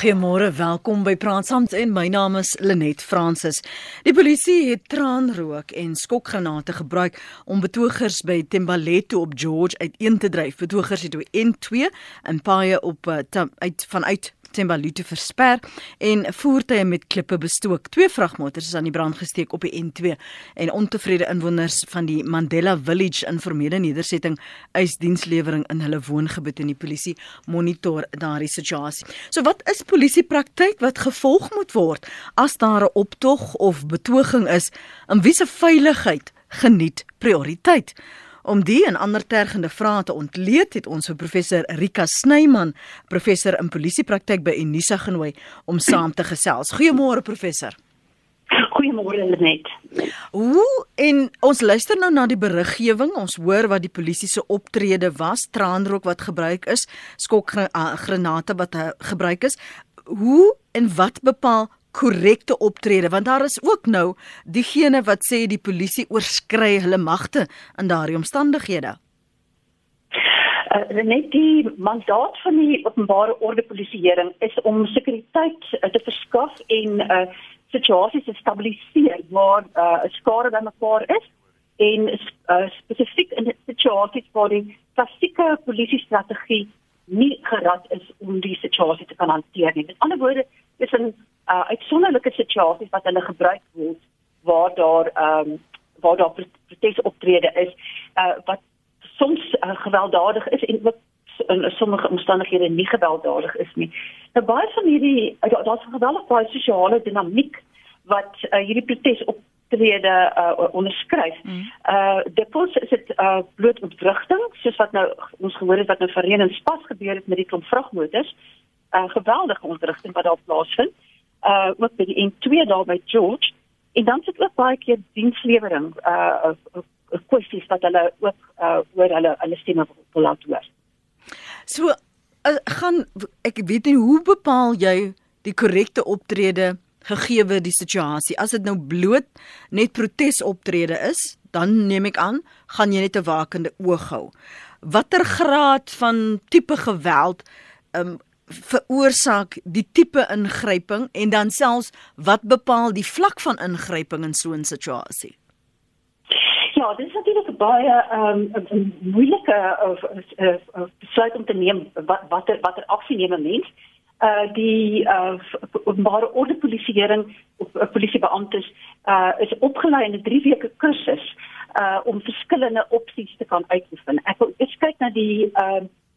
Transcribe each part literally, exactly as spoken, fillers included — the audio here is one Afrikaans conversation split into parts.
Goeiemôre, welkom by Praat Saam en my naam is Lenet Francis. Die polisie het traanrook en skokgranate gebruik om betogers by Thembalethu op George uiteen te dryf. Betogers het op N twee in paaie op uh, uit vanuit Thembalethu versper en voertuie met klippe bestook. Twee vragmotors is aan die brand gesteek op die N twee en ontevrede inwoners van die Mandela Village informele nedersetting eis dienslewering in hulle woongebied en die polisie monitor daardie situasie. So wat is polisiepraktyk wat gevolg moet word as daar 'n optog of betoging is, en wie se veiligheid geniet prioriteit? Om die en ander tergende vrae te ontleed het ons vir professor Rika Snyman, professor in polisiepraktyk by Unisa genooi om saam te gesels. Goeiemôre professor. Goeiemôre Lenet. Hoe en ons luister nou na die beriggewing, ons hoor wat die polisie se optrede was, traanrook wat gebruik is, skokgranate wat gebruik is. Hoe en wat bepaal korrekte optrede, want daar is ook nou diegene wat sê die polisie oorskry hulle magte in daardie omstandighede. Uh, net die mandaat van die openbare orde polisieering is om sekuriteit uh, te verskaf en uh, situasies te stabiliseer waar uh, skade bymekaar is en uh, spesifiek in situasies waar die klassieke polisiestrategie nie gerad is om die situasie te kan hanteer nie. Met ander woorde, is 'n uh, uitsonderlike situasies wat hulle gebruik word waar daar um, waar daar protesoptrede is uh, wat soms uh, gewelddadig is en wat in sommige omstandighede nie gewelddadig is nie. Nou baie van hierdie uh, daar's 'n geweldige baie sosiale dinamiek wat uh, hierdie protesoptrede uh, onderskryf. Mm. Uh dikwels is dit uh, bloot ontwrigting, soos wat nou ons gehoor het wat nou verlede in Spas gebeur het met die klomp vragmotors. Uh, geweldige ontwrigting wat daar plaasvind. Uh, ook by die N twee daar by George. En dan sit ook baie keer dienslewering, uh, uh, kwessies wat hulle ook uh, oor hulle, hulle stemme wil laat hoor. So, uh, gaan, ek weet nie, hoe bepaal jy die korrekte optrede gegeewe die situasie? As dit nou bloot net protesoptrede is, dan neem ek aan, gaan jy net 'n wakende oog hou. Watter graad van tipe geweld um, veroorsaak die tipe ingryping en dan selfs wat bepaal die vlak van ingryping in so 'n situasie? Ja, dit is natuurlijk een baie um, een moeilike uh, uh, uh, besluit om te nemen wat, wat, er, wat er actie nemen mens. Uh, die uh, openbare orde polisiering, uh, politiebeamptes uh, is opgeleid in 'n drie weke kursus uh, om verskillende opsies te kan uitoefen. Ek wil eens kyk na die uh,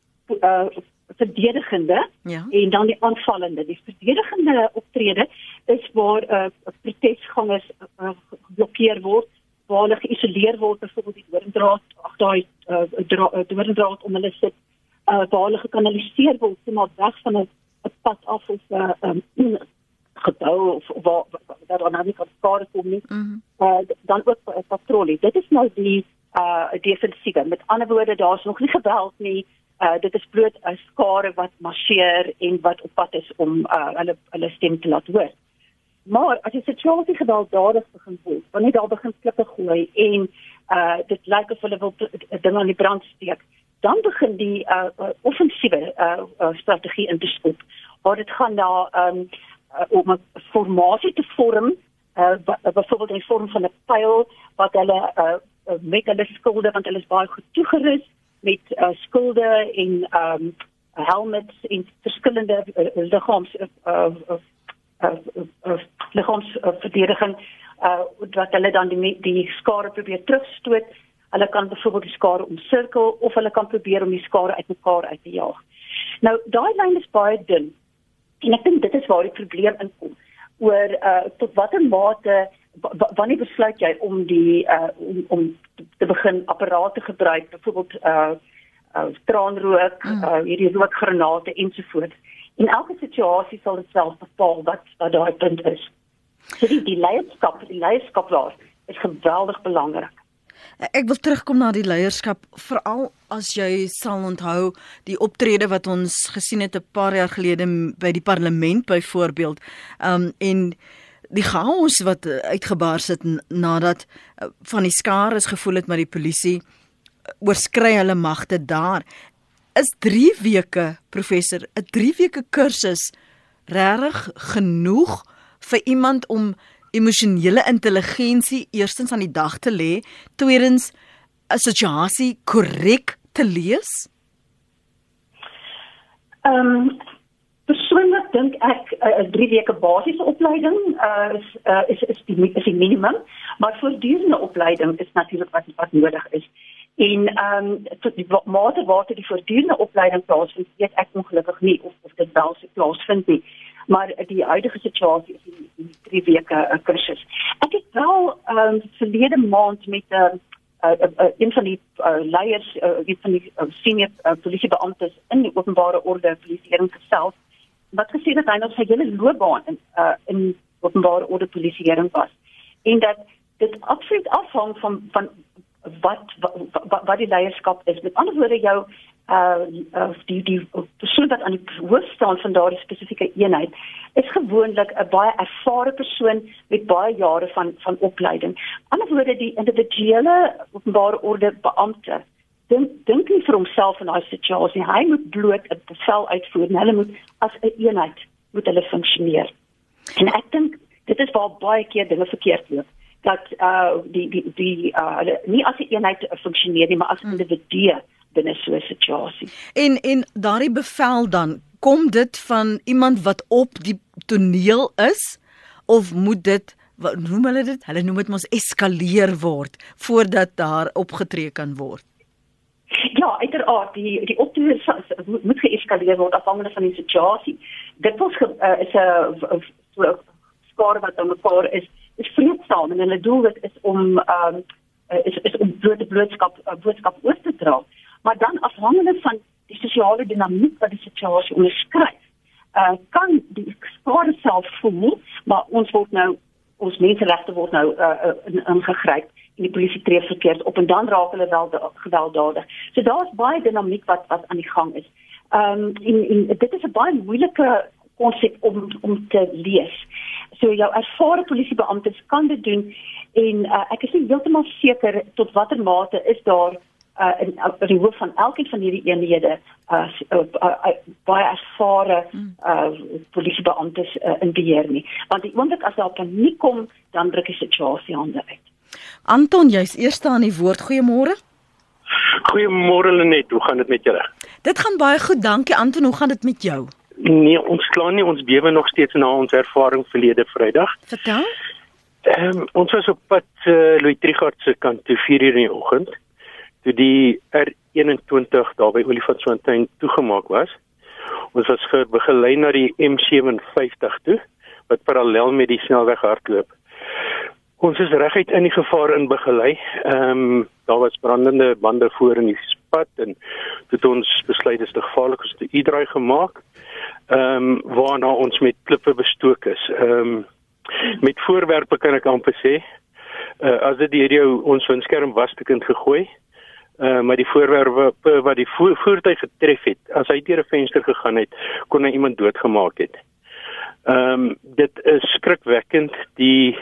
uh, verdedigende ja. en dan die aanvallende. Die verdedigende optrede is waar uh, protesgangers uh, geblokkeer word, waar hulle geïsoleer word, byvoorbeeld die doorndraad, ag daai uh, doorndraad om hulle sit, uh, waar hulle gekanaliseer word, so maar weg van 'n pad af of 'n uh, um, gebou of waar daar dan nou nie kan skade kom nie. Mm-hmm. uh, dan ook 'n patrollie. Dit is nou die uh, defensiewe. Met ander woorde, daar's nog nie geweld nie. Uh, dit is bloot 'n skare wat marcheer en wat op pad is om uh, hulle, hulle stem te laat hoor. Maar as die situasie gewelddadig begin word, wanneer daar begin klippe gooi en uh, dit lyk of hulle wil dinge aan die brand steek, dan begin die uh, uh, offensiewe uh, uh, strategie in te skop, waar dit gaan na um, uh, om 'n formasie te vorm, uh, byvoorbeeld in vorm van 'n pyl, wat hulle uh, met hulle skulde, want hulle is baie goed toegerus, met uh, skulde en um, helmets en verskillende uh, lichaams uh, uh, uh, uh, uh, lichaamsverdediging uh, wat hulle dan die, die skare probeer terugstoot. Hulle kan byvoorbeeld die skare omsirkel of hulle kan probeer om die skare uit mekaar uit te jaag. Nou, daai lyn is baie dun en ek dink dit is waar die probleem inkom oor uh, tot watter mate wanneer besluit jy om die uh, om, om te begin apparate gebruik, byvoorbeeld uh, uh, traanrook, mm. uh, hierdie rookgranate ensovoorts. In elke situasie sal dit self bepaal wat wat daai punt is. So die, die leierskap, die leierskap daar is geweldig belangrik. Ek wil terugkom na die leierskap, veral as jy sal onthou die optrede wat ons gesien het 'n paar jaar gelede by die parlement byvoorbeeld, um, en die chaos wat uitgebars het nadat van die skare is gevoel het met die polisie oorskry hulle magte daar. Is drie weke, professor, 'n drie weke kursus regtig genoeg vir iemand om emosionele intelligensie eerstens aan die dag te lê, tweedens 'n situasie korrek te lees? Ehm um, persoonlik dink ek 'n uh, drie weke basiese opleiding uh, is, uh, is is die is die minimum, maar voortdurende opleiding is natuurlik wat wat nodig is. En ehm um, tot die mate waartoe die voortdurende opleiding plaasvind, weet ek ongelukkig nie of of dit wel so plaasvind nie. Maar die huidige situasie is die, die drie weke uh, kursus. Ek het wel ehm um, verlede maand met 'n uh, Uh, uh, uh, een van die uh, leiers, uh, een van die uh, senior uh, politiebeamptes in die openbare orde polisieering gesels, wat gesê dat hy nog sy hele loopbaan in, uh, in openbare orde polisieering was. En dat dit absoluut afhang van, van wat, wat, wat die leierskap is. Met ander woorde, jou uh, uh, die, die persoon wat aan die hoof staan van daardie spesifieke eenheid, is gewoonlik 'n baie ervare persoon met baie jare van, van opleiding. Ander woorde, die individuele openbare orde beampte, dink, dink nie vir homself in daai situasie. Hy moet bloot 'n bevel uitvoer en hulle moet as 'n eenheid moet hulle funksioneer. En ek dink dit is waar baie keer dinge verkeerd loop. Dat uh, die die die uh, nie as 'n eenheid funksioneer nie, maar as individue binne so 'n situasie. En en daardie bevel dan, kom dit van iemand wat op die toneel is, of moet dit, wat noem hulle dit? Hulle noem dit mos eskaleer word voordat daar opgetree kan word. Ja, uiteraard, die die optrede moet geeskaleer word afhangende van die situasie. Dit was uh, is 'n so skare wat aan mekaar is, is vreedsaam en hulle doel dit is om um, is is om blote boodskap boodskap oor te dra. Maar dan afhangende van die sosiale dinamiek wat die situasie onderskryf, uh, kan die skare self voel, maar ons word nou ons menseregte word nou uh, ingegryp en die polisie tree verkeerd op en dan raak hulle wel gewelddadig. So daar's baie dinamiek wat wat aan die gang is. Ehm um, en, en dit is 'n baie moeilike konsep om om te lees. So jou ervare polisiebeamptes kan dit doen en uh, ek is nie heeltemal seker tot watter mate is daar uh, in, in die hoof van elkeen van hierdie eenhede uh, uh, uh, uh, baie ervare uh, polisiebeamptes uh, in beheer nie. Want die oomblik as daar paniek kom, dan druk die situasie hande uit. Anton, jy's eerste aan die woord. Goeiemôre. Goeiemôre Lenet, hoe gaan dit met julle? Dit gaan baie goed, dankie Anton. Hoe gaan dit met jou? Nee, ons kla nie, ons bewe nog steeds na ons ervaring verlede Vrydag. Vertel. Ehm um, ons was op pad uh, Louis Trichardt se kant toe vier uur in die oggend, toe die R eenentwintig daar by Olifantsfontein toegemaak was. Ons was begelei na die M vyf ses vyf toe, wat parallel met die snelweg hardloop. Ons is reguit in die gevaar in begelei. Ehm um, daar was brandende bande voor in die pad en toe het ons besluit dis te gevaarlik om te U-draai gemaak. Ehm um, waarna ons met klippe bestook is. Ehm um, met voorwerpe kan ek amper sê, uh, as dit deur jou ons windskerm was te kind gegooi, uh, maar die voorwerpe wat die vo voertuig getref het, as hy deur 'n venster gegaan het, kon hy iemand doodgemaak het. Ehm um, dit is skrikwekkend. Die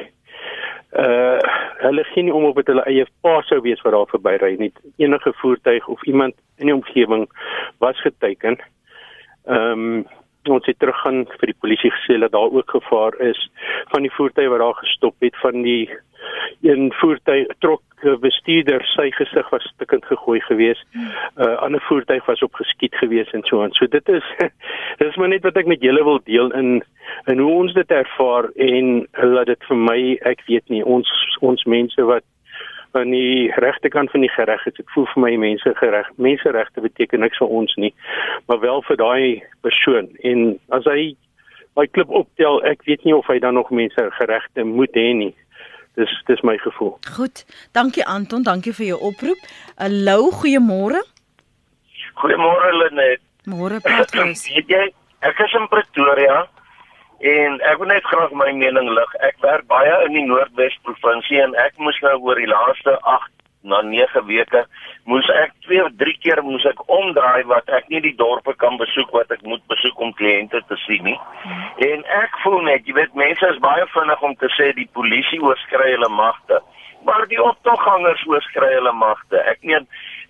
Uh, hulle gee nie om op het hulle eie pa sou wees wat daar verbyry nie. Enige voertuig of iemand in die omgewing was geteken. Ehm um, ons het teruggaan vir die polisie gesê dat daar ook gevaar is van die voertuig wat daar gestop het, van die een voertuig trok bestuurder, sy gesig was stukkend gegooi gewees. 'n uh, ander voertuig was opgeskiet gewees en so aan. So dit is dit is maar net wat ek met julle wil deel in en hoe ons dit ervaar en laat dit vir my, ek weet nie, ons ons mense wat aan die regterkant van die gereg is, ek voel vir my mense gereg, menseregte beteken niks vir ons nie, maar wel vir daai persoon. En as hy my klip optel, ek weet nie of hy dan nog mense geregte moet hê nie. Dis dis my gevoel. Goed. Dankie Anton, dankie vir jou oproep. Hallo, goeiemôre. Goeiemôre Lenet. Môre praat ons. Weet jy, ek is in Pretoria en ek wil net graag my mening lig. Ek werk baie in die Noordwes provinsie en ek moes nou oor die laaste agt na nege weke moes ek twee of drie keer moes ek omdraai wat ek nie die dorpe kan besoek wat ek moet besoek om kliënte te sien nie. Hmm. En ek voel net, jy weet, mense is baie vinnig om te sê die polisie oorskry hulle magte, maar die optoggangers oorskry hulle magte. Ek meen,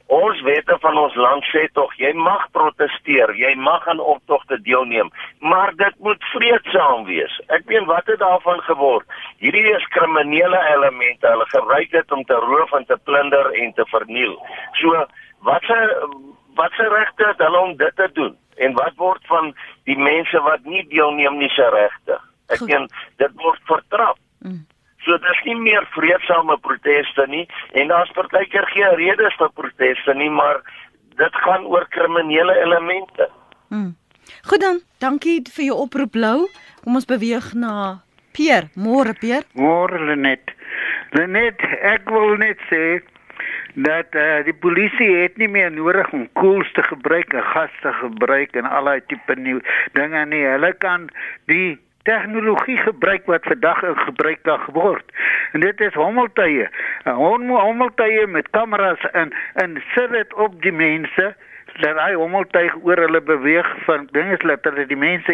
Ons wette van ons land sê tog, jy mag protesteer, jy mag aan optogte deelneem, maar dit moet vreedsaam wees. Ek weet wat het daarvan geword. Hierdie is kriminele elemente, hulle gebruik dit om te roof en te plunder en te verniel. So, wat se wat se regte het hulle om dit te doen? En wat word van die mense wat nie deelneem nie se regte? Ek meen, dit word vertrap. Mm. So dis nie meer vreedsame proteste nie, en daar's partykeer geen redes vir proteste nie, maar dit gaan oor kriminele elemente. Mm. Goed dan, dankie vir jou oproep, Lou. Kom ons beweeg na Pierre. Môre, Pierre. Môre, Lenet. Lenet, ek wil net sê dat uh, die polisie het nie meer nodig om koels te gebruik en gas te gebruik en allerlei tipe nuwe dinge nie. Hulle kan die tegnologie gebruik wat vandag in gebruik kan word. En dit is hommeltuie. Hommeltuie met kameras en, en sit dit op die mense, dat hy hommeltuig oor hulle beweeg van dinge, dat hulle die mense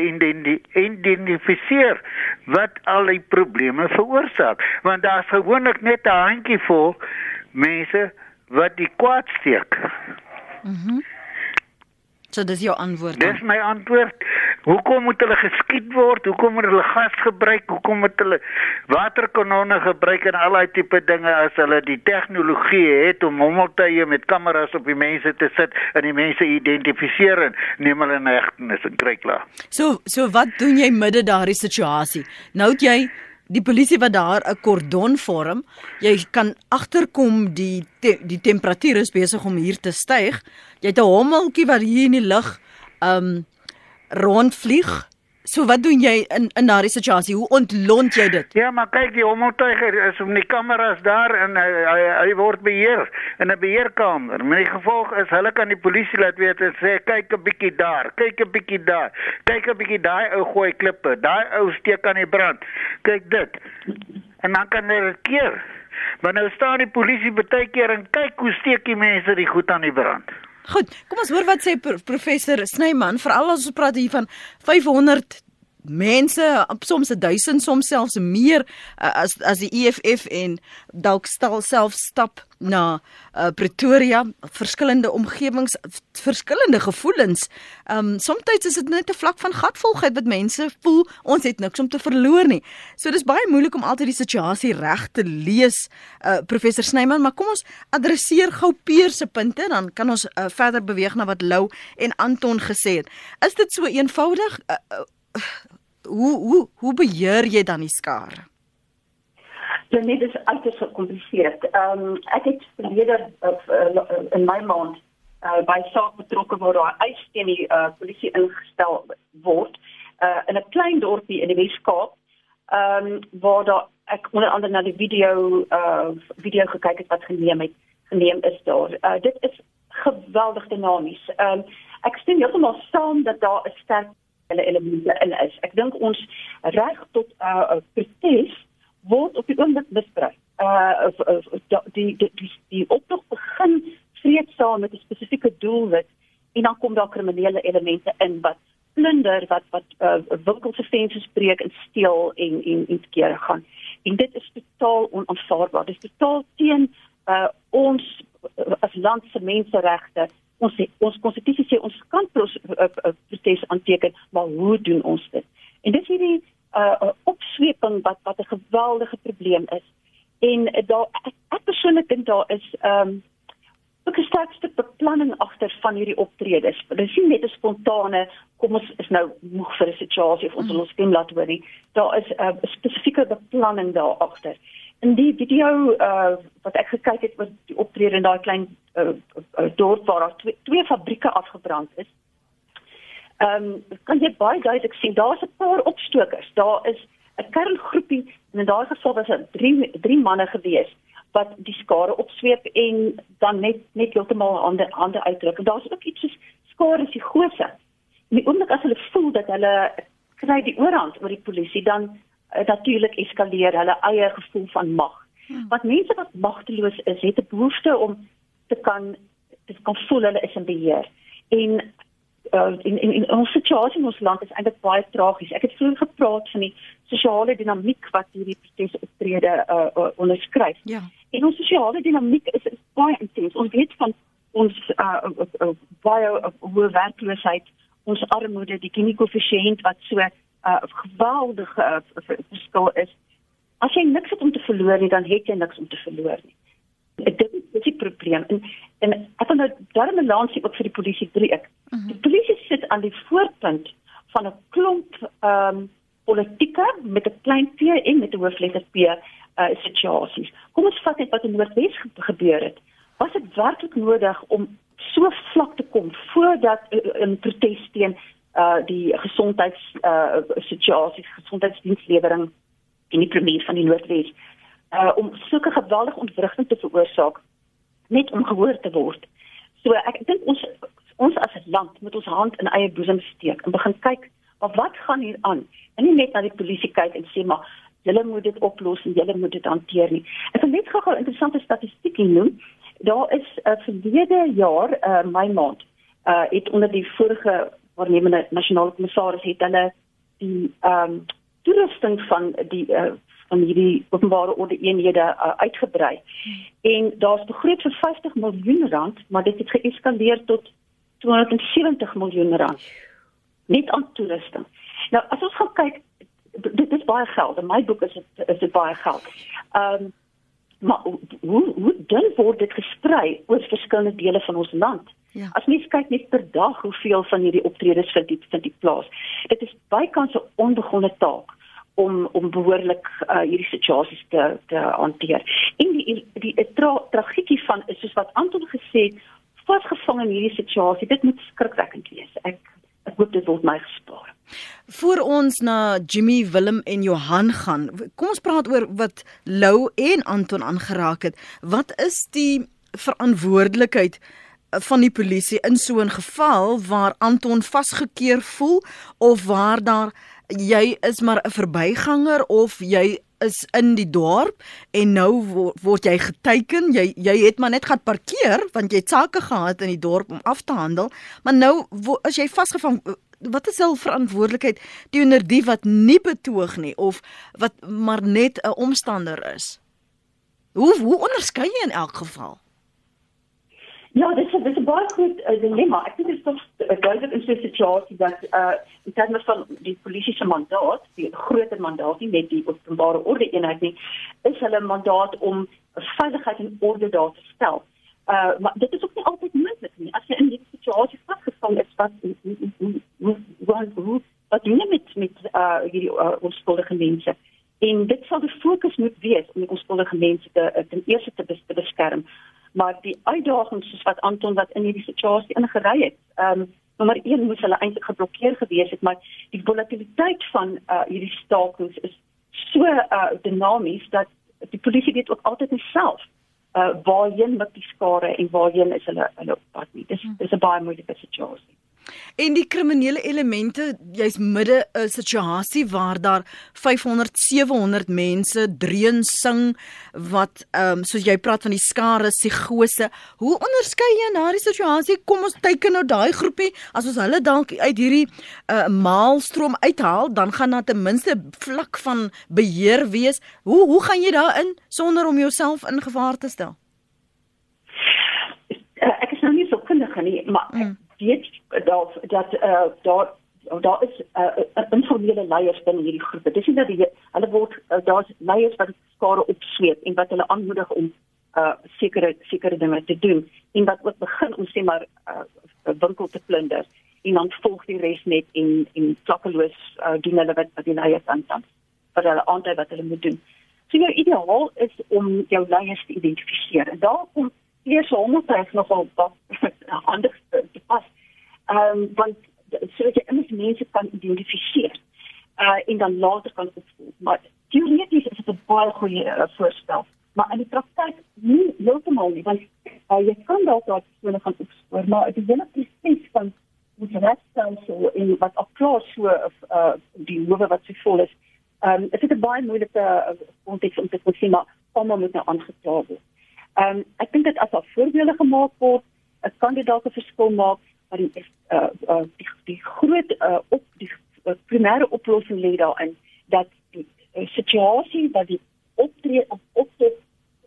identifiseer wat al die probleme veroorsaak. Want daar is gewoonlik net 'n handjievol mense wat die kwaad steek. Mhm. So dis jou antwoord. Dis my antwoord. Hoekom moet hulle geskiet word? Hoekom moet hulle gas gebruik? Hoekom moet hulle waterkanone gebruik en allerlei tipe dinge as hulle die tegnologie het om hommeltuie met kameras op die mense te sit en die mense identifiseer en neem hulle in hegtenis en kry klaar. So so wat doen jy midde daardie situasie? Nou het jy die polisie wat daar 'n kordon vorm, jy kan agterkom die te, die temperatuur is besig om hier te styg. Jy het 'n hommeltjie wat hier in die lug um rondvlieg. So wat doen jy in in daardie situasie? Hoe ontlont jy dit? Ja, maar kyk, die hommeltuiger is om die kameras daar en hy, hy, hy word beheer in 'n beheerkamer. Met die gevolg is hulle kan die polisie laat weet en sê kyk 'n bietjie daar, kyk 'n bietjie daar. Kyk 'n bietjie daai ou gooi klippe, daai ou steek aan die brand. Kyk dit. En dan kan hulle dit keer. Maar nou staan die polisie baie keer en kyk hoe steek die mense die goed aan die brand. Goed, kom ons hoor wat sê professor Snyman, veral as ons praat hier van vyfhonderd mense, soms duisend, soms selfs meer as as die E F F en dalk stel self stap na uh, Pretoria, verskillende omgewings, verskillende gevoelens. Um soms is dit net 'n vlak van gatvolgheid wat mense voel, ons het niks om te verloor nie. So dis baie moeilik om altyd die situasie reg te lees, uh, professor Snyman, maar kom ons adresseer gou Pierre se punte, dan kan ons uh, verder beweeg na wat Lou en Anton gesê het. Is dit so eenvoudig? Uh, uh, Hoe hoe hoe beheer jy dan die skare? Ja, nee, dit is uiters gecompliceerd. Um, ek het verlede uh, uh, in my maand uh, by saak betrokke waar daar eis teen die uh, polisie ingestel word uh, in 'n klein dorpie in die Weskaap, um, waar daar ek onder andere na die video uh, video gekyk het wat geneem het geneem is daar. Uh, dit is geweldig dinamies. Um, ek stem heeltemal saam dat daar 'n sterk elemente in is. Ek dink ons reg tot 'n uh, protes word op die oomblik misbruik. Uh, die, die, die, die optog begin vreedsaam met 'n spesifieke doelwit en dan kom daar kriminele elemente in wat plunder, wat wat uh, winkels se vensters breek en steel en en en keer gaan. En dit is totaal onaanvaarbaar. Dit is totaal teen uh, ons uh, as land se menseregte. Ons ons konstitusie sê ons kan protes aanteken, maar hoe doen ons dit? En dis hierdie uh, opsweping wat wat 'n geweldige probleem is. En uh, daar ek, ek persoonlik dink daar is um, ook 'n sterk stuk beplanning agter van hierdie optredes. Dit is nie net 'n spontane, kom ons is nou moeg vir 'n situasie of ons wil ons stem laat hoor nie. Daar is 'n uh, spesifieke beplanning daar agter. In die video uh, wat ek gekyk het, was die optrede in daai klein uh, uh, dorp waar daar twee, twee fabrieke afgebrand is. Um, kan jy baie duidelik sien, daar is 'n paar opstokers. Daar is 'n kerngroepie, en in daai geval was dit drie, drie manne gewees, wat die skare opsweep en dan net net heeltemal hande, hande uitdruk. En daar is ook iets soos skare psigose. En die oomblik as hulle voel dat hulle kry die oorhand oor die polisie, dan Uh, natuurlijk eskaleer hulle eie gevoel van mag. Hmm. Want mense wat magteloos is, het 'n behoefte om te kan te kan voel hulle is in beheer. En uh, in, in, in ons situasie in ons land is eintlik baie tragies. Ek het vroeër gepraat van die sosiale dinamiek wat hierdie protesoptrede uh, uh, onderskryf. Ja. En ons sosiale dinamiek is, is baie intens. Ons weet van ons uh, uh, uh, baie uh, hoë werkloosheid, ons armoede, die Gini-koëffisiënt wat so 'n uh, geweldige uh, verskil is. As jy niks het om te verloor nie, dan het jy niks om te verloor nie. Dit is die probleem. En, en ek wil nou daarom 'n lansie ook vir die polisie breek. Uh-huh. Die polisie sit aan die voorpunt van 'n klomp um, politieke met 'n klein p en met 'n hoofletter p uh, situasies. Kom ons vat net wat in Noordwes gebeur het. Was dit werklik nodig om so vlak te kom voordat 'n protes teen uh, die gesondheidssituasies, uh, gesondheidsdienslewering en die premier van die Noordwes, uh, om sulke geweldige ontwrigting te veroorsaak, net om gehoor te word. So ek dink ons ons as 'n land moet ons hand in eie boesem steek en begin kyk, maar wat gaan hier aan? En nie net na die polisie kyk en sê, maar julle moet dit oplos en julle moet dit hanteer nie. Ek wil net gou 'n interessante statistiek noem. Daar is uh, verlede jaar, uh, Mei maand, uh, het onder die vorige waarnemende nasionale kommissaris het hulle die um, toerusting van die uh, van hierdie openbare orde eenhede uh, uitgebrei. En daar's begroot vir vyftig miljoen rand, maar dit het geeskaleer tot tweehonderdsewentig miljoen rand. Net aan toerusting. Nou, as ons gaan kyk, dit is baie geld. In my boek is dit is dit baie geld. Um, maar hoe hoe dun word dit gesprei oor verskillende dele van ons land? Ja. As mens kyk net per dag hoeveel van hierdie optredes vind die, vind die plaas. Dit is bykans 'n onbegonne taak om om behoorlik uh, hierdie situasies te te hanteer. En die die, die tra, tragedie van is soos wat Anton gesê het, vasgevang in hierdie situasie. Dit moet skrikwekkend wees. Ek ek hoop dit word my gespaar. Voor ons na Jimmy, Willem en Johan gaan, kom ons praat oor wat Lou en Anton aangeraak het. Wat is die verantwoordelikheid van die polisie in so 'n geval waar Anton vasgekeer voel of waar daar jy is maar 'n verbyganger of jy is in die dorp en nou word, word jy geteiken, jy jy het maar net gaan parkeer want jy het sake gehad in die dorp om af te handel, maar nou as jy vasgevang, wat is hul verantwoordelikheid teenoor die wat nie betoog nie of wat maar net 'n omstander is? Hoe hoe onderskei jy in elk geval? Ja, dit is, dit is een baie goed uh, dilemma. Ek dink dit is toch uh, duidelijk in so'n situasie dat uh, in termen van die politieke mandaat, die groter mandaat, nie net die openbare orde eenheid nie, is hulle mandaat om veiligheid en orde daar te stel. Uh, maar dit is ook nie altyd moontlik nie. As jy in die situasie vasgevang is, wat, hoe, hoe, hoe, hoe, hoe, wat doen jy met, met uh, hierdie uh, onskuldige mense? En dit sal de focus moet wees om die onskuldige mense te, ten eerste te, bes, te beskerm. Maar die uitdagings soos wat Anton wat in hierdie situasie ingery het, um, nommer een moes hulle eintlik geblokkeer gewees het, maar die volatiliteit van uh, hierdie stakings is so uh, dinamies dat die polisie weet ook altyd nie self uh, waarheen met die skare en waarheen is hulle, hulle op pad nie. Dis, dis 'n baie moeilike situasie. En die kriminele elemente, jy's midde 'n situasie waar daar vyfhonderd, sewehonderd mense dreun sing wat ehm um, soos jy praat van die skare psigose. Hoe onderskei jy na die situasie? Kom ons teiken nou daai groepie, as ons hulle dalk uit hierdie uh, maalstroom uithaal, dan gaan daar ten minste vlak van beheer wees. Hoe hoe gaan jy daarin sonder om jouself in gevaar te stel? Uh, ek is nou nie so kundig nie, maar mm. weet dat dat uh, daar daar is uh, informele leiers binne hierdie groepe. Dis nie dat die, hulle word uh, daar's leiers wat skare opsweep en wat hulle aanmoedig om uh, sekere sekere dinge te doen en wat ook begin om sê maar 'n uh, winkel te plunder en dan volg die res net en en klakkeloos uh, doen hulle wat wat die leiers aanstaan wat hulle aandui wat hulle moet doen. So jou ideaal is om jou leiers te identifiseer. En daar kom eers hommeltuig nogal wat anders te pas. Um, want sodat jy immers mense kan identifiseer uh, en dan later kan opvolg. Maar theoretisch is het een baie goeie uh, voorstel. Maar in die praktijk nie heeltemal nie, want uh, jy kan daar daar persone gaan opspoor, maar die hele proces van ons rechtsstelsel en wat al klaar so uh, die hoewe wat so vol is, um, is het een baie moeilike context uh, om te kon sê, maar allemaal moet nou aangekla word. Um, ek dink dat as daar voorbeelde gemaakt word, het kan dit dalk 'n verskil maak, maar die, uh, uh, die, die groot uh, op, die uh, primêre oplossing lê daarin dat die uh, situasie wat die optree of optree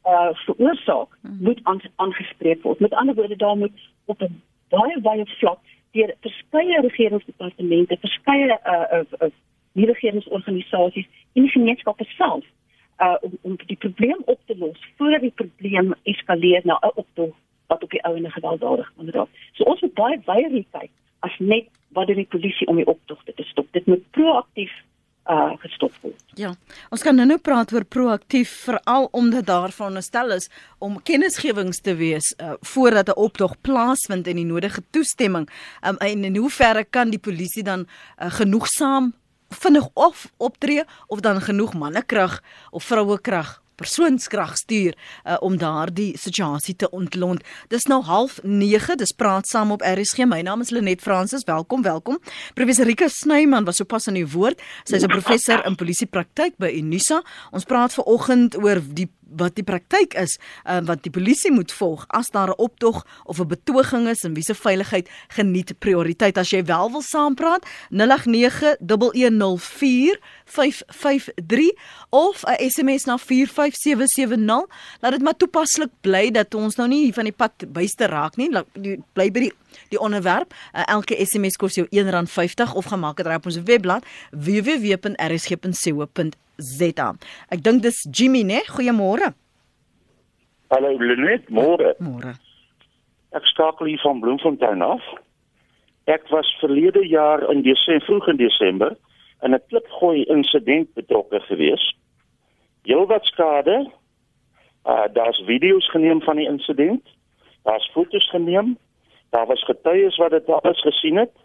uh, veroorsaak, moet aangespreek word. Met ander woorde, daar moet op 'n baie baie vlak deur verskeie regeringsdepartemente, verskeie uh, uh, uh, nie-regeringsorganisasies en die gemeenskappe self uh, om, om die probleem op te los voordat die probleem eskaleer na 'n optog wat op die ou en gewelddadig kan raak. So ons moet baie weier kyk as net wat doen die polisie om die optogte te stop. Dit moet proaktief uh, gestop word. Ja, ons kan nou nou praat oor proaktief, veral omdat daar veronderstel is om kennisgewings te wees uh, voordat 'n optog plaasvind en die nodige toestemming. Um, en in hoeverre kan die polisie dan uh, genoegsaam vinnig of optree of dan genoeg mannekrag of vrouekrag, persoonskrag stuur uh, om daardie situasie te ontlont. Dis nou half nege, dis praat saam op R S G. My naam is Lenet Fransis. Welkom, welkom. Professor Rika Snyman was sopas aan die woord. Sy is 'n professor in polisiepraktyk by Unisa. Ons praat vanoggend oor die wat die praktyk is, uh, wat die polisie moet volg as daar 'n optog of 'n betoging is en wie se veiligheid geniet prioriteit. As jy wel wil saampraat, nul agt nege, een een nul vier, vyf vyf drie of 'n S M S na vier vyf sewe sewe nul. Laat dit maar toepaslik bly dat ons nou nie hier van die pad byste raak nie. Laat die, bly by die die onderwerp. Uh, elke S M S kos jou een rand vyftig of gemaak het op ons webblad w w w punt r s g punt c o punt z a. Ek dink dis Jimmy, né? Goeiemôre. Hallo Lenet, môre. Môre. Ek skakel hier van Bloemfontein af. Ek was verlede jaar in Desember, vroeg in Desember, in 'n klipgooi insident betrokke gewees. Heelwat skade. Uh, daar's video's geneem van die insident. Daar's foto's geneem. Daar was getuies wat dit alles gesien het.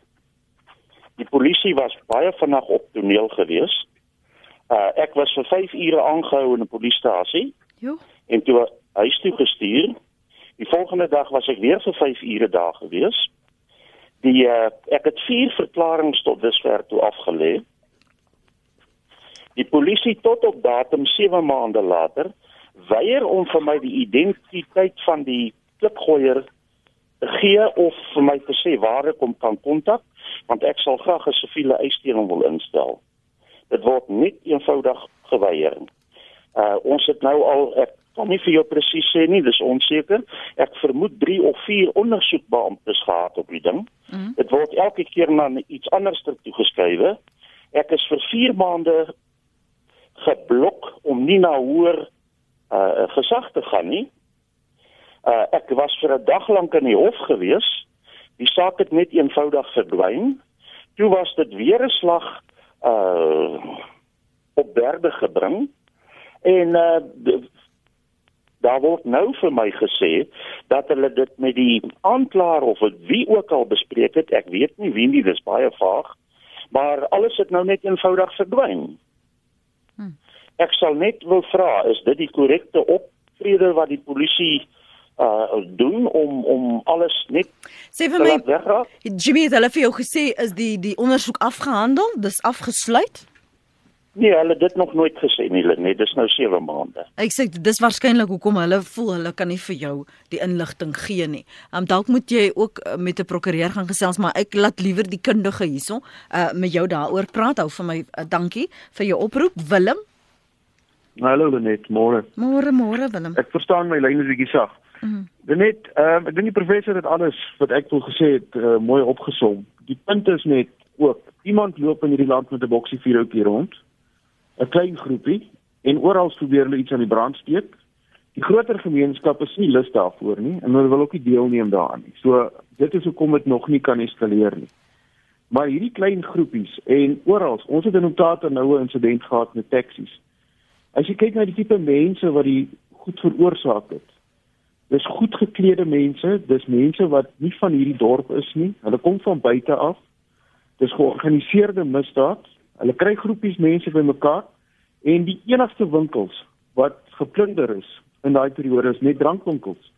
Die polisie was baie vinnig op toneel gewees. Uh, ek was vir vyf ure aangehou in 'n polisiestasie en toe huis toe gestuur. Die volgende dag was ek weer vir vyf ure daar gewees. Die uh, ek het vier verklaringe tot dusver toe afgelê. Die polisie tot op datum sewe maande later weier om vir my die identiteit van die klipgooier te gee of vir my te sê waar ek hom kan kontak, want ek sal graag 'n siviele eisstelling wil instel. Dit word net eenvoudig geweier. Uh, ons het nou al, ek kan nie vir jou presies sê nie, dis onseker. Ek vermoed drie of vier ondersoekbeamptes gehad op die ding. Mm. Dit word elke keer na iets anders toegeskrywe. Ek is vir vier maande geblok om nie na hoër uh, gesag te gaan nie. Uh, ek was vir 'n dag lank in die hof gewees. Die saak het net eenvoudig verdwyn. Toe was dit weer 'n slag uh, op berde gebring. En uh, daar word nou vir my gesê dat hulle dit met die aanklaer of wie ook al bespreek het. Ek weet nie wie nie, dis baie vaag. Maar alles het nou net eenvoudig verdwyn. Hmm. Ek sal net wil vra, is dit die korrekte optrede wat die polisie uh, doen om om alles net Sê vir my, Jimmy, het hulle vir jou gesê, is die die ondersoek afgehandel? Dis afgesluit? Nee, hulle het dit nog nooit gesê nie, nee, dis nou sewe maande. Ek sê, dis waarskynlik hoekom hulle voel, hulle kan nie vir jou die inligting gee nie. Um, dalk moet jy ook uh, met 'n prokureur gaan gesels, maar ek laat liewer die kundige hierso uh, met jou daaroor praat. Hou vir my, uh, dankie vir jou oproep. Willem? Hallo Lenet, môre. Môre, môre Willem. Ek verstaan my lyn is bietjie sag. Mm. Lenet, um, ek dink die professor het alles wat ek wil gesê het uh, mooi opgesom. Die punt is net ook, iemand loop in hierdie land met 'n boksie vuurhoutjie rond, 'n klein groepie, en oral probeer hulle iets aan die brand steek. Die groter gemeenskap is nie lus daarvoor nie, en hulle wil ook nie deelneem daaraan nie. So, dit is hoekom dit nog nie kan eskaleer nie. Maar hierdie klein groepies, en oral, ons het in Omtata nou 'n insident gehad met taksies. As jy kyk na die tipe mense wat die goed veroorsaak het, dis goed geklede mense, dis mense wat nie van hierdie dorp is nie, hulle kom van buite af, dis georganiseerde misdaad, hulle kry groepies mense bymekaar, en die enigste winkels wat geplunder is in daai periode is net drankwinkels.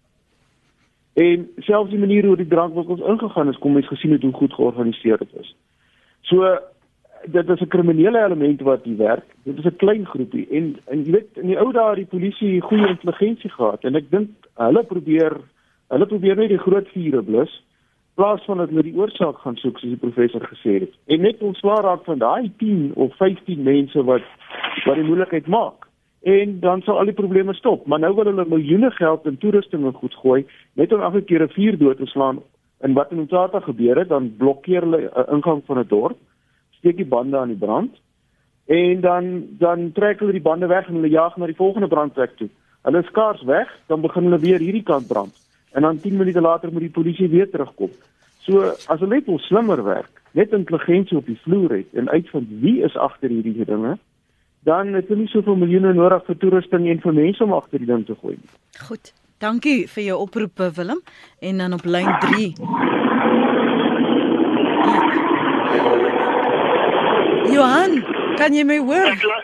En selfs die manier hoe die drankwinkels ingegaan is, kom mens gesien het hoe goed georganiseerd dit is. So, dit is 'n kriminele element wat hier werk, dit is 'n klein groepie, en, en jy weet, in die ou dae die polisie goeie intelligensie gehad, en ek dink, hulle probeer, hulle probeer net die groot vure blus, plaas van dat hulle die oorsaak gaan soek, soos die professor gesê het. En net ontslae raak van daai tien of vyftien mense wat wat die moeilikheid maak. en dan sal al die probleme stop. Maar nou wil hulle miljoene geld in toerusting en goed gooi, net om elke keer 'n vuur dood te slaan. En wat in Mthatha gebeur het, dan blokkeer hulle 'n ingang van 'n dorp, steek die bande aan die brand, en dan dan trek hulle die bande weg en hulle jaag na die volgende brandplek toe. Hulle is skaars weg, dan begin hulle weer hierdie kant brand. En dan tien minute later moet die polisie weer terugkom. So as hulle net wil slimmer werk, net intelligensie op die vloer het en uitvind wie is agter hierdie dinge, dan het hulle nie soveel miljoene nodig vir toerusting en vir mense om agter die ding te gooi. Goed. Dankie vir jou oproep, Willem. En dan op lyn drie. Johan, kan jy my hoor?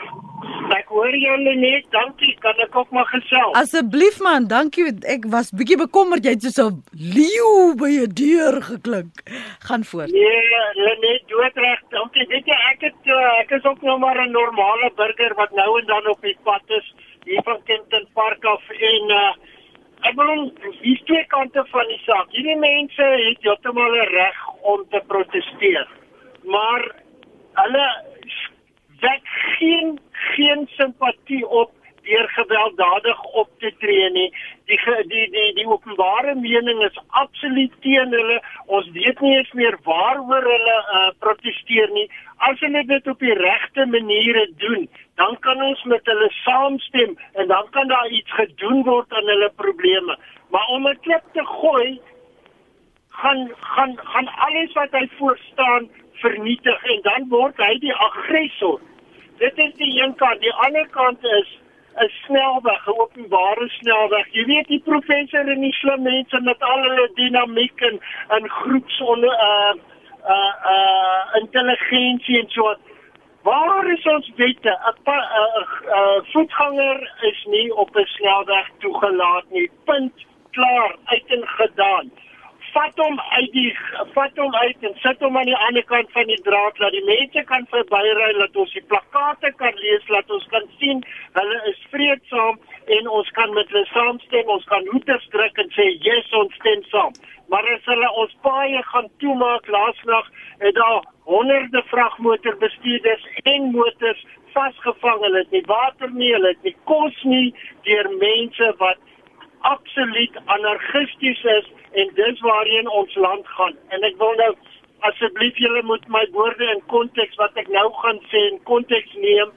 Ek hoor julle net, dankie, kan ek ook maar gesels. Asseblief man, dankie, ek was bietjie bekommerd, jy het soos 'n leeu by jou deur geklink. Gaan voort. Nee, net doodreg, dankie, weet jy, ek het, uh, ek is ook nog maar 'n normale burger wat nou en dan op die pad is, hier van Kempton Park af, en uh, ek bedoel, hier's twee kante van die saak. Hierdie mense het heeltemal 'n reg om te proteseer, maar hulle wek geen geen simpatie op deur gewelddadig op te tree nie. Die die die die openbare mening is absoluut teen hulle. Ons weet nie eens meer waaroor hulle uh, proteseer nie. As hulle dit op die regte maniere doen, dan kan ons met hulle saamstem en dan kan daar iets gedoen word aan hulle probleme. Maar om 'n klip te gooi, gaan gaan gaan alles wat hy voorstaan vernietig en dan word hy die aggressor. Dit is die een kant. Die ander kant is 'n snelweg, 'n openbare snelweg. Jy weet die professor en die slim mense met al hulle dinamiek en, en groeps onder uh uh uh intelligensie en so. Waar is ons wette? 'n uh, uh, voetganger is nie op 'n snelweg toegelaat nie. Punt, klaar, uit en gedaan. Vat hom uit die vat hom uit en sit hom aan die ander kant van die draad, laat die mense kan verbyry, laat ons die plakate kan lees, laat ons kan sien hulle is vreedsaam en ons kan met hulle saamstem, ons kan hoeters druk en sê yes, ons stem saam. Maar as hulle ons paaie gaan toemaak, laasnag het daar honderde vragmotorbestuurders en motors vasgevang, hulle het nie water nie, hulle het nie kos nie, deur mense wat absoluut anarchisties is, en dis waarheen ons land gaan. En ek wil nou, asseblief julle moet my woorde in konteks, wat ek nou gaan sê, in konteks neem.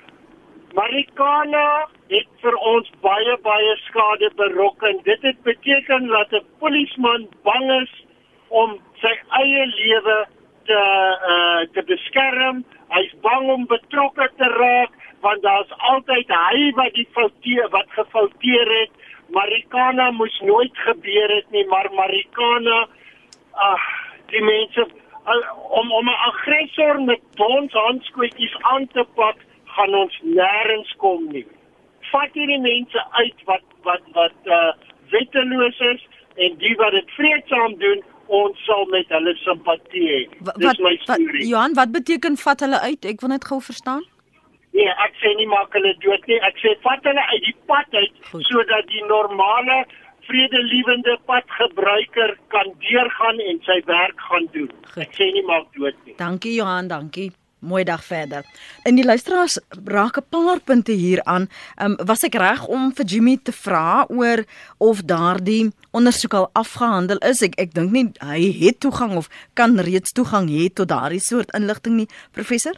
Marikana het vir ons baie, baie skade berokken. Dit het beteken dat 'n polisieman bang is om sy eie lewe te, uh, te beskerm. Hy's bang om betrokke te raak, want daar's altyd hy wat die fouteer, wat gefouteer het. Marikana moes nooit gebeur het nie, maar Marikana, ag, die mense, om, om 'n aggressor met ons handskootjies aan te pak, gaan ons nêrens kom nie. Vat hierdie mense uit wat, wat, wat uh, wetteloos is, en die wat dit vreedsaam doen, ons sal met hulle simpatie hê. Dis my storie. Johan, wat beteken vat hulle uit? Ek wil net gou verstaan. Nee, ek sê nie maak hulle dood nie, ek sê vat hulle uit die pad uit, Goed. sodat die normale, vredelievende padgebruiker kan deurgaan en sy werk gaan doen. Goed. Ek sê nie maak dood nie. Dankie Johan, dankie. Mooi dag verder. En die luisteraars raak 'n paar punte hier aan. Um, was ek reg om vir Jimmy te vra oor of daardie ondersoek al afgehandel is? Ek ek dink nie hy het toegang of kan reeds toegang hê tot daardie soort inligting nie, professor?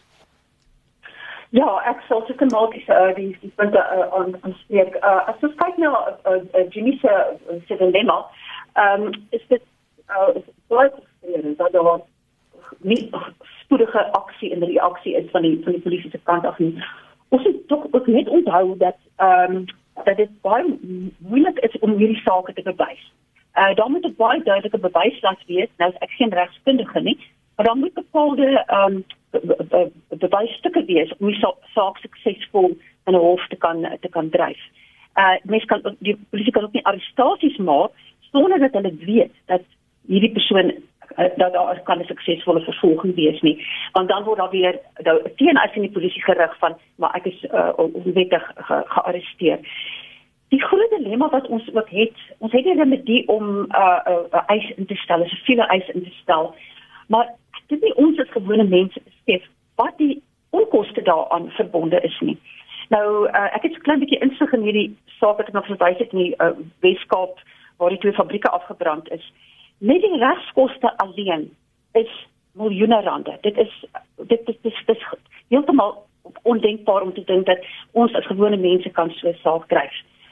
Ja, ek sal seker maak uh, die die punte uh, aan aanspreek. Uh, as ons kyk na uh, uh, Jimmy se se dilemma, ehm um, is dit uh, is baie frustrerend dat daar nie spoedige aksie en reaksie is van die van die polisie se kant af nie. Ons moet tog ook net onthou dat ehm um, dat dit baie moeilik is om hierdie sake te bewys. Uh, daar moet 'n baie duidelike bewyslas wees. Nou is ek geen regskundige nie, maar dan moet bepaalde ehm um, bewysstukke wees om die saak suksesvol in 'n hof te kan te kan dryf. Uh mense kan die polisie kan ook nie arrestasies maak sonder dat hulle weet dat hierdie persoon uh, dat daar kan 'n suksesvolle vervolging wees nie. Want dan word daar weer nou teen-eis in die polisie gerig van maar ek is uh, onwettig ge, gearresteer. Die groot dilemma wat ons ook het, ons het nie 'n remedie om 'n uh, uh, eis in te stel, 'n siviele eis in te stel, maar dit nie ons as gewone mense besef wat die onkoste daaraan verbonde is nie. Nou, uh, ek het so 'n klein bietjie insig in hierdie saak wat ek nog verwys het in die uh, Weskaap waar die twee fabrieke afgebrand is. Net die regskoste alleen is miljoene rande. Dit is dit is dit is, dit is heeltemal ondenkbaar om te dink dat ons as gewone mense kan so 'n saak kry.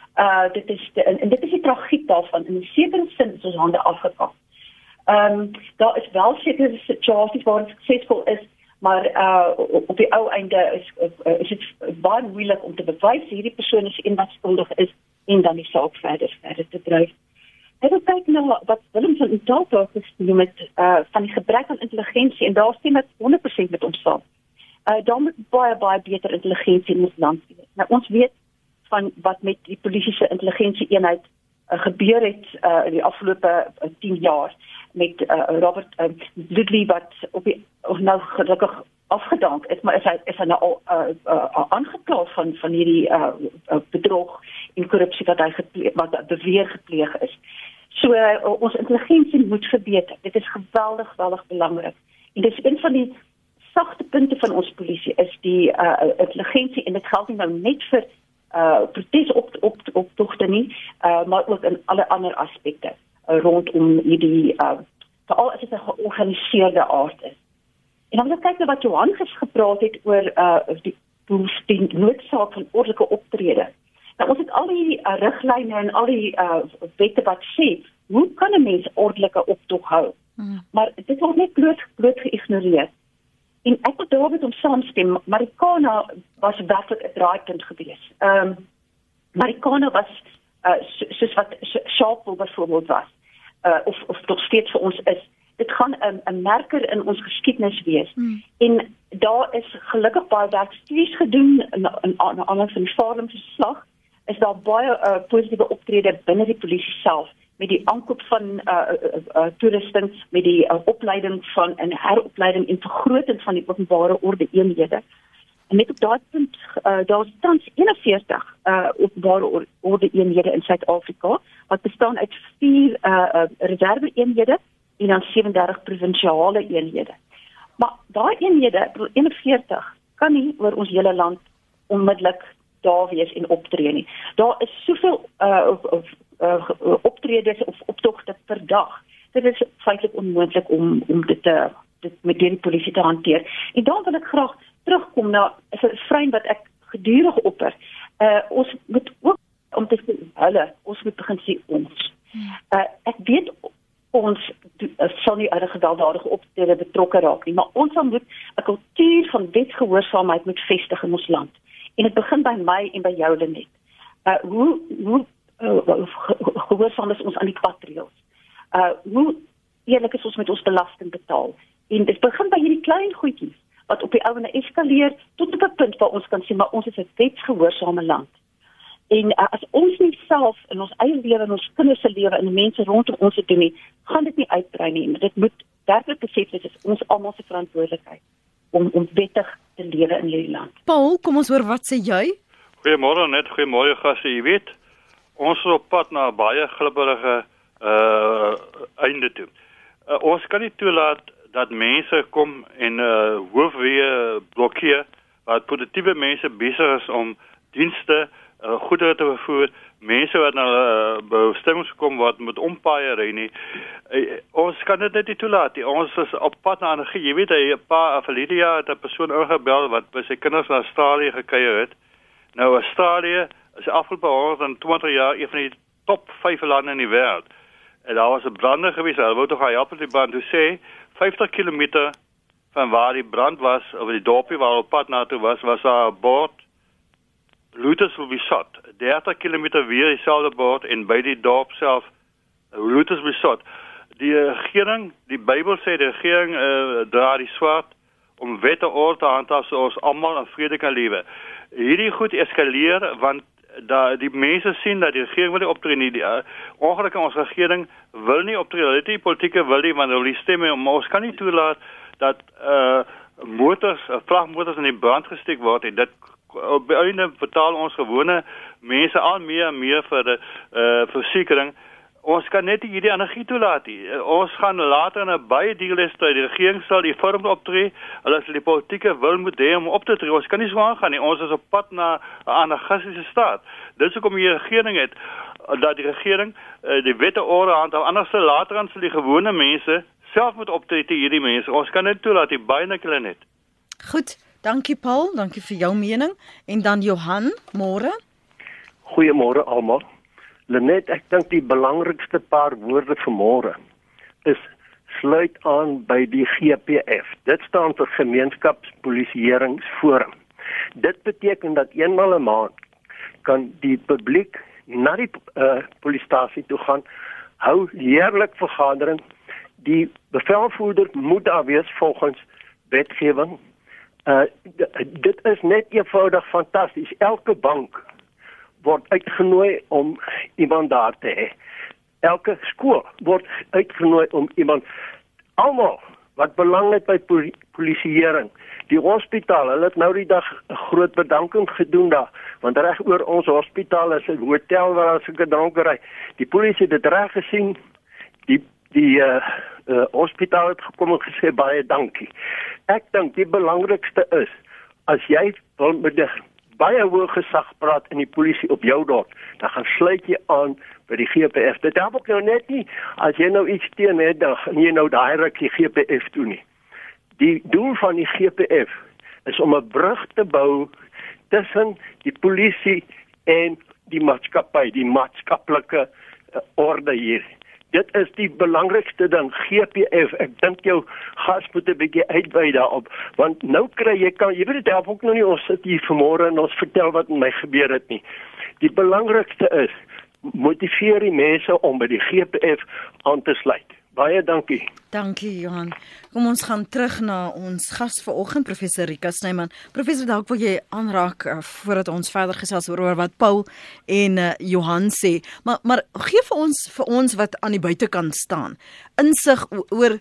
Uh dit is de, en, en dit is die tragiek daarvan. In 'n sekere sin is ons hande afgekap. Ehm um, daar is wel sekere situasies waar dit suksesvol is, maar uh op die ou einde is uh, is dit baie moeilik om te bewys hierdie persoon is een wat skuldig is en dan die saak verder verder te dryf. Ek wil kyk na wat Willem van Utalpa gesê met uh van die gebrek aan intelligensie en daar stem ek honderd persent met hom saam. Uh daar moet baie baie beter intelligensie in ons land wees. Nou ons weet van wat met die polisie se intelligensie eenheid uh, gebeur het uh, in die afgelope uh, tien jaar met uh, Robert uh, Ludwig wat op die of nou gelukkig afgedank is, maar is hy is hy nou al uh, uh, aangekla van van hierdie uh, uh, bedrog en korrupsie wat hy gepleeg, wat beweer gepleeg is. So uh, ons intelligensie moet verbeter. Dit is geweldig geweldig belangrik. En dit is een van die sagte punte van ons polisie is die uh, intelligensie en dit geld nie nou net vir uh protesoptogte nie, uh, maar ook in alle ander aspekte uh, rondom hierdie uh veral as dit 'n georganiseerde aard is. En dan wil ek kyk na wat Johan gespreek het oor uh die die noodsaak van ordelike optrede. Nou ons het al die uh, riglyne en al die uh wette wat sê hoe kan 'n mens ordelike optog hou? Hmm. Maar dit word net bloot bloot geïgnoreer. En ek wil daarmee om saamstem, Marikana was werklik 'n draaipunt geweest. Ehm um, Marikana was uh, so, soos wat Sharpeville byvoorbeeld was, uh, of of nog steeds vir ons is. Dit gaan 'n 'n merker in ons geskiedenis wees. Hmm. En daar is gelukkig baie werkstudies gedoen in in aanleiding van die Farlem verslag. Is daar baie uh, positiewe optrede binne die polisie self met die aankoop van uh, uh, uh, toerusting, met die uh, opleiding van en heropleiding en vergroting van die openbare orde eenhede. En net op daardie punt, uh, daar is tans eenenveertig uh, openbare orde eenhede in Suid-Afrika, wat bestaan uit vier uh, uh, reserve eenhede en dan sewendertig provinsiale eenhede. Maar daai eenhede, eenenveertig, kan nie oor ons hele land onmiddellik daar wees en optree nie. Daar is soveel uh, of, uh, optredes of optogte per dag. Dit is feitlik onmoontlik om om dit te dit met die polisie te hanteer. En dan wil ek graag terugkom na 'n refrein wat ek gedurig opper. Uh, ons moet ook om te sê hulle, ons moet begin sê ons. Uh, ek weet ons uh, sal nie uit 'n gewelddadige optrede betrokke raak nie, maar ons moet 'n kultuur van wetsgehoorsaamheid moet vestig in ons land. En dit begin by my en by jou, Lenet. Uh, hoe hoe uh, gehoorsaam is ons aan die padreëls? Uh, hoe eerlik is ons met ons belasting betaal? En dit begin by hierdie klein goedjies wat op die ouene eskaleer tot op 'n punt waar ons kan sê maar ons is 'n wetsgehoorsame land. En uh, as ons nie self in ons eie lewe en ons kinders se lewe en die mense rondom ons te doen nie, gaan dit nie uitbrei nie. Maar dit moet werklik besef dit is ons almal se verantwoordelikheid om om wettig te lewe in hierdie land. Paul, kom ons hoor wat sê jy? Goeiemôre net, goeiemôre gaste. Jy weet, ons is op pad na 'n baie glibberige uh einde toe. Uh, ons kan nie toelaat dat mense kom en uh hoofweë blokkeer wat produktiewe mense besig is om dienste uh, goedere te vervoer, mense wat na uh, bestemmings kom wat met ompaaie ry nie. Uh, ons kan dit net nie toelaat nie. Ons is op pad na energie. Jy weet, 'n paar verlede jaar het 'n persoon ingebel wat by sy kinders na Australië gekuier het. Nou Australië is afgelope honderdtwintig jaar een van die top vyf lande in die wêreld. En daar was 'n brande gewees. Hulle wou tog gaan help met die brand. Hulle sê vyftig kilometer van waar die brand was, of die dorpie waar op pad na toe was, was daar 'n bord Looters will be shot. dertig kilometer weer dieselfde bord en by die dorp self Looters will be shot. Die regering, die Bybel sê die regering uh, dra die swaard om wette orde te handhaaf so ons almal in vrede kan lewe. Hierdie goed eskaleer want da die mense sien dat die regering wil nie optree nie. Die, uh, ongelukkig ons regering wil nie optree. Dit die politieke wil nie, want hulle wil stemme, maar ons kan nie toelaat dat uh, motors, uh, vragmotors in die brand gesteek word en dit op einde betaal ons gewone mense al meer en meer vir die uh, versekering. ons kan net nie hierdie energie toelaat nie. Ons gaan later in 'n baie dierliste, die regering sal die vorm optree, hulle sal die politieke wil moet hê om op te tree. Ons kan nie so aangaan nie. Ons is op pad na 'n anarchistiese staat. Dis hoekom die regering het dat die regering uh, die wette orde handhaaf, anders sal later aan sal die gewone mense self moet optree te hierdie mense. Ons kan net toelaat die baie nikkel net. Goed, dankie Paul, dankie vir jou mening. En dan Johan, môre. Goeiemôre almal. Lenet, ek dink die belangrikste paar woorde vir môre is sluit aan by die G P F. Dit staan vir Gemeenskapspolisieeringsforum. Dit beteken dat eenmal 'n maand kan die publiek na die uh, polisiestasie toe gaan, hou heerlik vergadering. Die bevelvoerder moet daar wees volgens wetgewing. Uh, dit is net eenvoudig fantasties. Elke bank word uitgenooi om iemand daar te hê. Elke skool word uitgenooi om iemand, almal wat belang het by poli polisieering, die hospitaal, hulle het nou die dag 'n groot bedanking gedoen daar, want reg oor ons hospitaal is 'n hotel waar as ek 'n dronkery, die polisie het dit reg gesien, die die uh, uh, hospitaal het gekom en gesê baie dankie. Ek dink die belangrikste is, as jy wil met die baie hoë gesag praat in die polisie op jou dorp, dan gaan sluit jy aan by die G P F. Dit help ook nou net nie, as jy nou iets teen het, dan gaan jy nou daai ruk die G P F toe nie. Die doel van die G P F is om 'n brug te bou tussen die polisie en die maatskappy, die maatskaplike uh, orde hier. Dit is die belangrikste ding, G P F. Ek dink jou gas moet 'n bietjie uitwy daarop, want nou kry jy kan jy weet dit help ook nou nie ons sit hier vanmôre en ons vertel wat met my gebeur het nie. Die belangrikste is motiveer die mense om by die G P F aan te sluit. Baie dankie. Dankie Johan. Kom ons gaan terug na ons gas vanoggend, professor Rika Snyman. Professor, dalk wil jy aanraak uh, voordat ons verder gesels oor wat Paul en uh, Johan sê. Maar maar gee vir ons vir ons wat aan die buitekant staan, insig oor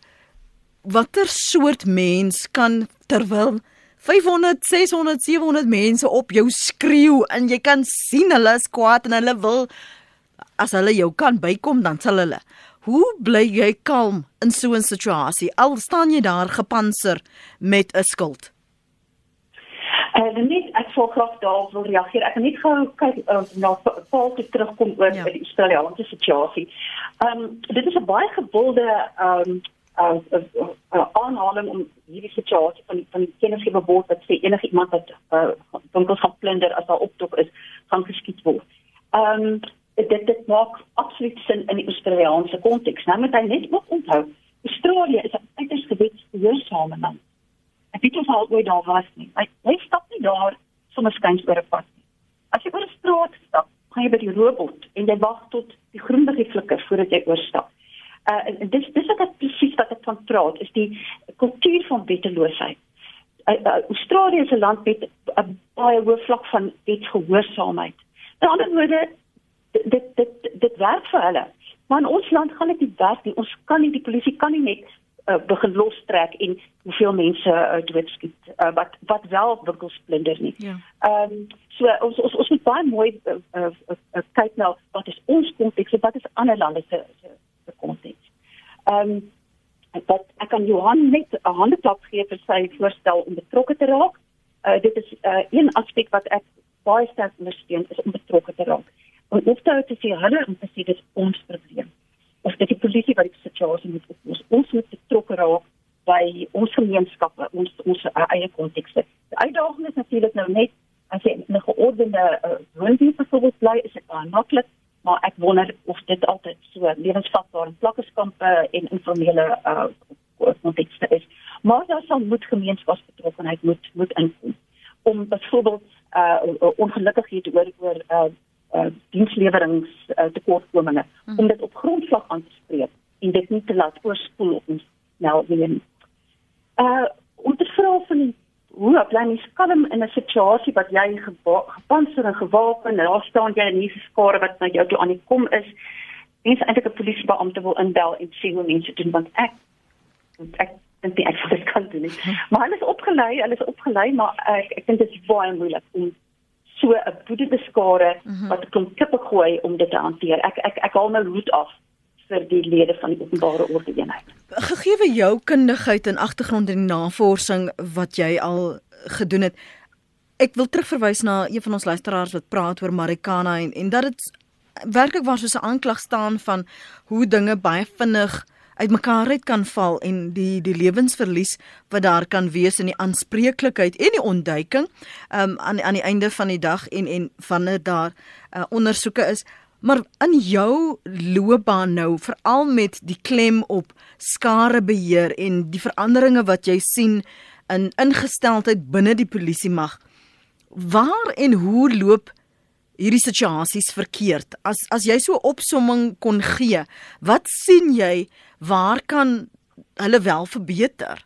watter soort mens kan terwyl vyfhonderd, seshonderd, sewehonderd mense op jou skreeu en jy kan sien hulle is kwaad en hulle wil, as hulle jou kan bykom, dan sal hulle. Hoe bly jy kalm in so 'n situasie, al staan jy daar gepantser met 'n skild? Uh, net, ek sal graag daar wil reageer. Ek kan net gou kyk uh, na Paul te terugkom oor ja. die Australiese situasie. Um, dit is 'n baie gewilde um, uh, uh, uh, aanhaling om hierdie situasie van, van die kennisgewerbod wat sê enige iemand wat uh, winkels gaan plunder as daar optog is, gaan geskiet word. Um, Dit, dit maak absoluut sin in die Australiese konteks. Nou moet hy net ook onthou, Australië is 'n uiters gewetsgehoorsame land. Ek weet of al ooit daar was nie. Hy, hy stap nie daar sommer skuins oor 'n pad nie. As jy oor 'n straat stap, gaan jy by die robot en jy wag tot die groen liggie flikker voordat jy oorstap. Uh, en dis dis wat ek presies wat ek van praat, is die kultuur van wetteloosheid. Uh, uh, Australië is 'n land met 'n baie hoë vlak van wetsgehoorsaamheid. In ander woorde, Dit, dit, dit werk vir hulle. Maar in ons land gaan dit nie werk nie. Ons kan nie, die polisie kan nie net uh, begin lostrek en hoeveel mense uh, doodskiet, uh, wat, wat wel winkels plunder nie. Ja. Um, so ons, ons, ons moet baie mooi uh, uh, uh, kyk na wat is ons konteks en wat is ander lande se, se, se konteks. Um, wat, ek kan Johan net 'n handeklap gee vir sy voorstel om betrokke te raak. Uh, dit is uh, een aspek wat ek baie sterk ondersteun, is om betrokke te raak. En of daar te sê, hulle om te sê, dit is ons probleem. Of dit die polisie wat die situasie moet oplos. Ons moet betrokke raak by ons gemeenskappe, ons, ons uh, eie kontekste. Die uitdaging is natuurlijk nou net, as jy in 'n geordende uh, woonbuurt bijvoorbeeld bly, is dit baie maklik, maar ek wonder of dit altyd so lewensvatbaar in plakkerskampe en informele uh, kontekste is. Maar daar sal moet gemeenskapsbetrokkenheid moet, moet inkom. Om bijvoorbeeld uh, ongelukkighede oor, oor uh, Uh, diensleweringe uh, tekortkominge, hmm. om dit op grondvlak aan te spreek en dit nie te laat oorspoel op ons nou weer. Uh, om te vra van hoe bly mens kalm in 'n situasie wat jy gepantser en gewapen, en daar staan jy in hierdie skare wat na jou toe aan die kom is, mense eintlik 'n polisiebeampte wil inbel en sê hoe mense doen, want ek ek dink nie ek sal dit kan doen nie. Maar hulle is opgelei, hulle is opgelei, maar ek, ek dink dit is baie moeilik om so 'n boedende skare mm-hmm. wat 'n klomp kippe gooi om dit te hanteer. Ek ek ek haal my hoed af vir die lede van die openbare orde eenheid. Gegee jou kundigheid en agtergrond in die navorsing wat jy al gedoen het, ek wil terugverwys na een van ons luisteraars wat praat oor Marikana en, en dat dit werklik waar soos 'n aanklag staan van hoe dinge baie vinnig uitmekaar uit kan val en die die lewensverlies wat daar kan wees en die aanspreeklikheid en die ontduiking um, aan aan die einde van die dag en en wanneer daar uh, ondersoeke is. Maar in jou loopbaan nou, veral met die klem op skarebeheer en die veranderinge wat jy sien in ingesteldheid binne die polisiemag, waar en hoe loop hierdie situasies verkeerd? As as jy so 'n opsomming kon gee, wat sien jy, waar kan hulle wel verbeter?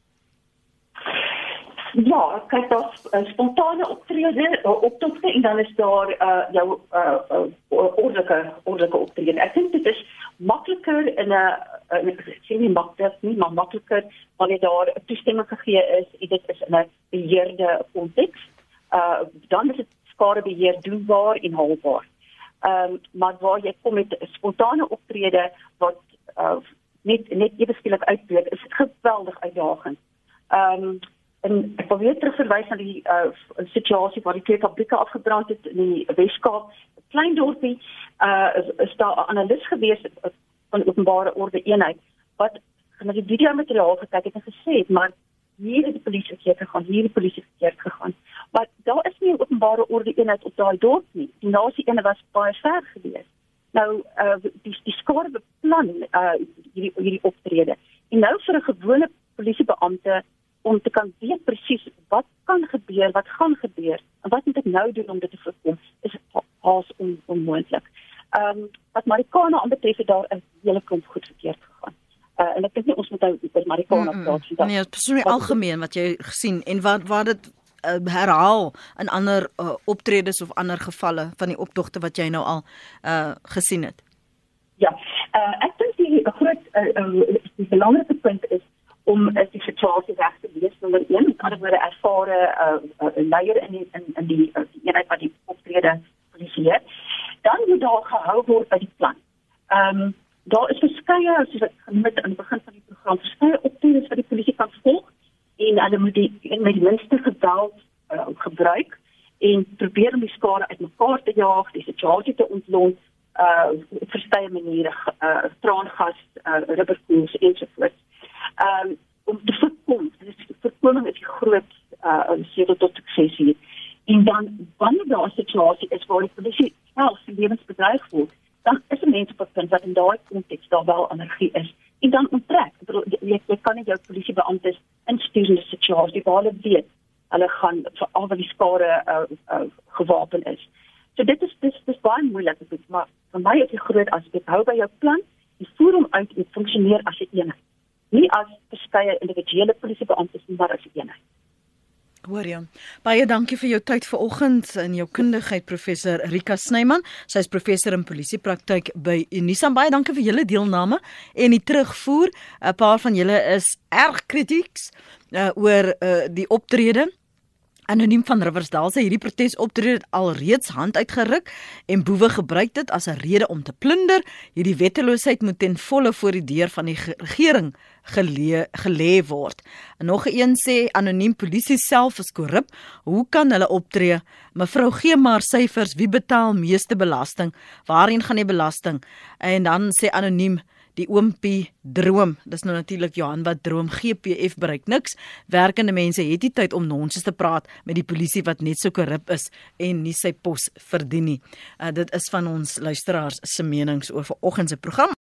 Ja, kyk, daar's uh, spontane optrede, uh, optogte en dan is daar uh, jou uh, uh, ordelike ordelike optrede. Ek dink dit is makliker in 'n uh, ek sê nie maklik nie, maar makliker wanneer daar 'n toestemming gegee is en dit is in 'n beheerde konteks. Uh, dan is dit skadebeheer doenbaar en haalbaar. Ehm um, maar waar jy kom met spontane optrede wat uh, net net ewe skielik uitbreek, is dit geweldig uitdagend. Ehm um, en ek wil weer terugverwys na die uh, situasie waar die twee fabrieke afgebrand het in die Weskaap. 'n Klein dorpie, uh, is, is daar 'n analis gewees van openbare orde eenheid wat na die videomateriaal gekyk het en gesê het, maar hier het die polisie verkeerd gegaan, hier het die polisie verkeerd gegaan. Maar daar is nie 'n openbare orde eenheid op daai dorp nie. Die naaste ene was baie ver gewees. Nou, uh, die, die skade beplan uh, hierdie, hierdie optrede. En nou vir 'n gewone polisiebeampte om te kan weet presies wat kan gebeur, wat gaan gebeur, en wat moet ek nou doen om dit te voorkom, is haas on, onmoontlik. Um, wat Marikana aanbetref, het daar 'n hele klomp goed verkeerd gegaan. Uh, en ek dink nie ons moet nou oor Marikana mm -mm. praat. Nee, dit is so algemeen wat jy gesien en wat waar dit uh, herhaal in ander uh, optredes of ander gevalle van die optogte wat jy nou al uh, gesien het. Ja, uh, ek dink die groot uh, uh, die belangrike punt is om is die situasie reg te lees, nommer een, met ander woorde ervare uh, uh, leier in die, in, in die, uh, die eenheid wat die optrede polisieer. Dan moet daar gehou word by die plan. Um, daar is verskeie, soos ek genoem het aan die begin van die program, verskeie optredes wat die polisie kan volg, en hulle moet die met die minste geweld uh, gebruik, en probeer om die skade uit mekaar te jaag, die situasie te ontlont, uh, op verskeie maniere, uh, traangas, uh, rubberkoels, ensovoorts. Um, om te voorkom, dus voorkoming is die groot uh, sleutel tot sukses hier. En dan, wanneer daar 'n situasie is waar die polisie self sy lewensbedreig word, dan is 'n mens op 'n punt wat in daai konteks daar wel energie is. En dan onttrek. Ek bedoel, jy, jy kan nie jou polisiebeamptes instuur in 'n situasie waar hulle weet, hulle gaan veral wat die skade uh, uh, gewapen is. So dit is, dit is, dit is baie moeilik, maar vir my is die groot aspek, hou by jou plan, en voer hom uit en funksioneer as 'n eenheid. Nie as verskeie individuele polisiebeamptes, maar as 'n eenheid. Hoor jy. Baie dankie vir jou tyd vanoggend en jou kundigheid, professor Rika Snyman. Sy is professor in polisiepraktyk by Unisa. Baie dankie vir julle deelname en die terugvoer. 'n Paar van julle is erg kritieks uh, oor uh, die optrede. Anoniem van Riversdal sê hierdie protesoptrede het alreeds hand uitgeruk en boewe gebruik dit as 'n rede om te plunder. Hierdie wetteloosheid moet ten volle voor die deur van die regering gelee, gelê word. En nog een sê anoniem polisie self is korrup. Hoe kan hulle optree? Mevrou gee maar syfers, wie betaal meeste belasting? Waarheen gaan die belasting? En dan sê anoniem die oompie droom, dis nou natuurlik Johan wat droom, G P F bereik niks, werkende mense het nie tyd om nonsens te praat met die polisie wat net so korrup is en nie sy pos verdien nie. Uh, dit is van ons luisteraars se menings oor vanoggend se program.